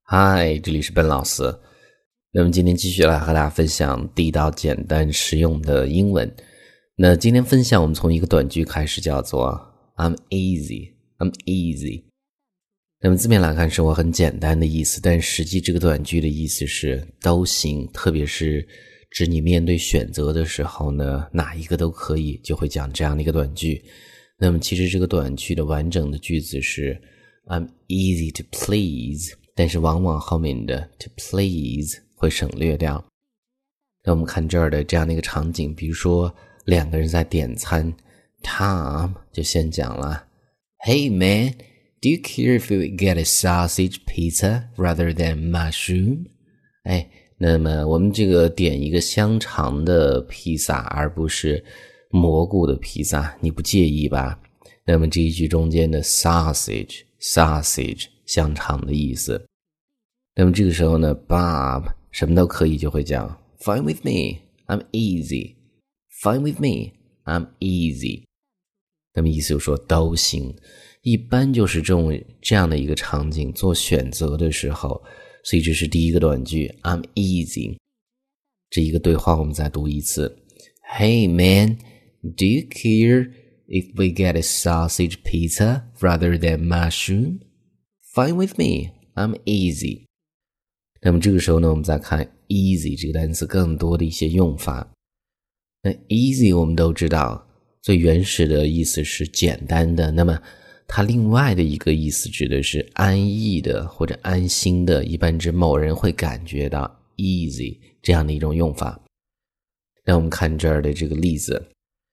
嗨，这里是笨老师。那么今天继续来和大家分享地道、简单、实用的英文。那今天分享我们从一个短句开始，叫做 I'm easy。那么字面来看是我很简单的意思，但实际这个短句的意思是都行，特别是指你面对选择的时候呢，哪一个都可以，就会讲这样的一个短句。那么其实这个短句的完整的句子是 I'm easy to please，但是往往后面的 to please 会省略掉。那我们看这儿的这样的一个场景，比如说两个人在点餐， Tom 就先讲了 Hey man, do you care if we get a sausage pizza rather than mushroom? 那么我们这个点一个香肠的披萨而不是蘑菇的披萨，你不介意吧？那么这一句中间的 sausage 香肠的意思。那么这个时候呢 Bob 什么都可以就会讲 Fine with me, I'm easy. Fine with me, I'm easy. 那么意思就是说都行，一般就是这样的一个场景做选择的时候，所以这是第一个短句 I'm easy。 这一个对话我们再读一次 Hey man, do you care if we get a sausage pizza rather than mushroom? Fine with me, I'm easy. 那么这个时候呢，我们再看 easy 这个单词更多的一些用法。那 easy 我们都知道最原始的意思是简单的，那么它另外的一个意思指的是安逸的或者安心的，一般指某人会感觉到 easy 这样的一种用法。那我们看这儿的这个例子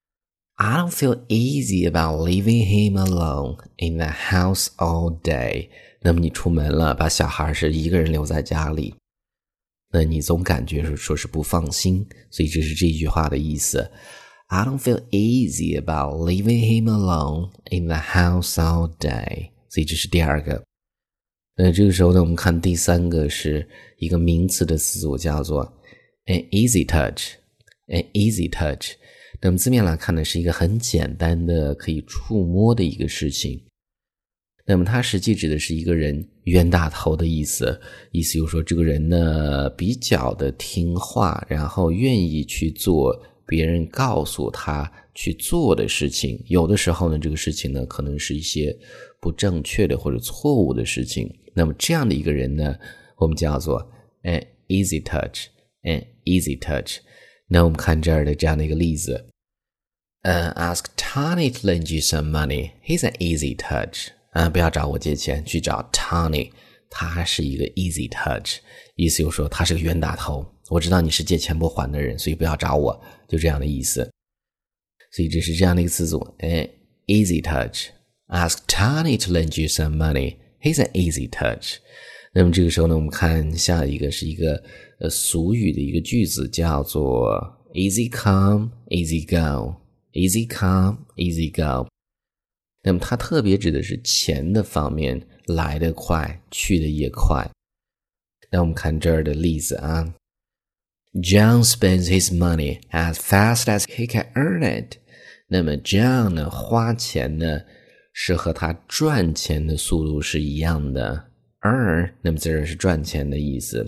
I don't feel easy about leaving him alone in the house all day。 那么你出门了，把小孩是一个人留在家里，那你总感觉说是不放心，所以这是这句话的意思。I don't feel easy about leaving him alone in the house all day。 所以这是第二个。那这个时候呢，我们看第三个是一个名词的词组，叫做 an easy touch。an easy touch， 那么字面来看呢，是一个很简单的可以触摸的一个事情。那么它实际指的是一个人冤大头的意思，意思就是说这个人呢比较的听话，然后愿意去做别人告诉他去做的事情。有的时候呢，这个事情呢可能是一些不正确的或者错误的事情。那么这样的一个人呢，我们叫做 an easy touch。an easy touch。 那我们看这儿的这样的一个例子，ask Tony to lend you some money. He's an easy touch. 不要找我借钱，去找 Tony， 他是一个 easy touch， 意思就是说他是个冤大头，我知道你是借钱不还的人，所以不要找我，就这样的意思。所以这是这样的一个词组 an easy touch。 Ask Tony to lend you some money. He's an easy touch。 那么这个时候呢，我们看下一个是一个俗语的一个句子，叫做 easy come, easy go. Easy come, easy go。 那么它特别指的是钱的方面，来得快，去得也快。那我们看这儿的例子啊， John spends his money as fast as he can earn it。 那么 John 呢，花钱呢是和他赚钱的速度是一样的， earn 那么这儿是赚钱的意思，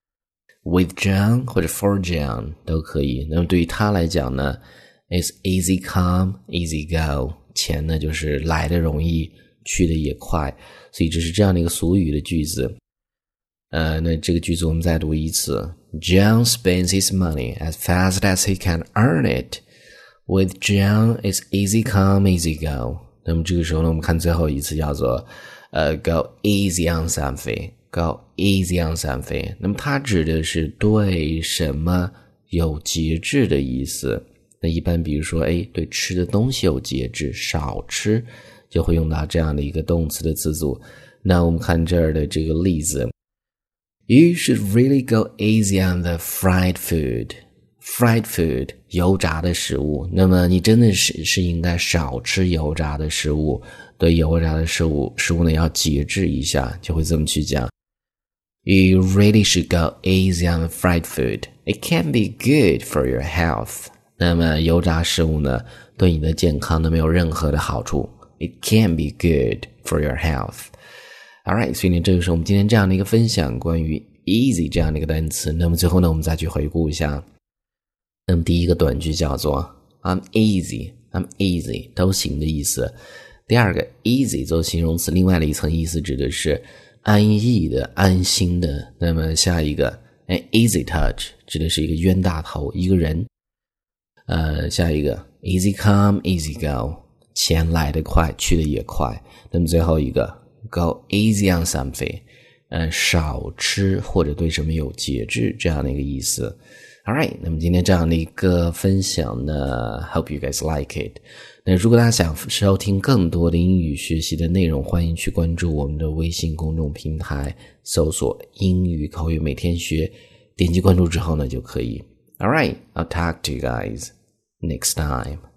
with John 或者 for John 都可以。那么对于他来讲呢It's easy come, easy go。 钱呢就是来得容易，去得也快，所以这是这样的一个俗语的句子。那这个句子我们再读一次， John spends his money as fast as he can earn it. With John, it's easy come, easy go。 那么这个时候呢，我们看最后一次叫做go easy on something. Go easy on something。 那么它指的是对什么有节制的意思。那一般比如说对吃的东西有节制，少吃，就会用到这样的一个动词的词组。那我们看这儿的这个例子， You should really go easy on the fried food. Fried food 油炸的食物，那么你真的是应该少吃油炸的食物，对油炸的食物呢要节制一下，就会这么去讲。You really should go easy on the fried food. It can be good for your health. 那么油炸食物呢，对你的健康呢没有任何的好处。It can be good for your health. Alright， 所以呢，这就是我们今天这样的一个分享，关于 easy 这样的一个单词。那么最后呢，我们再去回顾一下。那么第一个短句叫做 I'm easy 都行的意思。第二个 easy 做形容词，另外的一层意思指的是安逸的、安心的。那么下一个easy touch 指的是一个冤大头，一个人。下一个 easy come easy go， 钱来得快，去得也快。那么最后一个 go easy on something， 少吃或者对什么有节制这样的一个意思。Alright， 那么今天这样的一个分享呢 ，hope you guys like it。那如果大家想收听更多的英语学习的内容，欢迎去关注我们的微信公众平台，搜索英语口语每天学，点击关注之后呢就可以。Alright， I'll talk to you guys next time.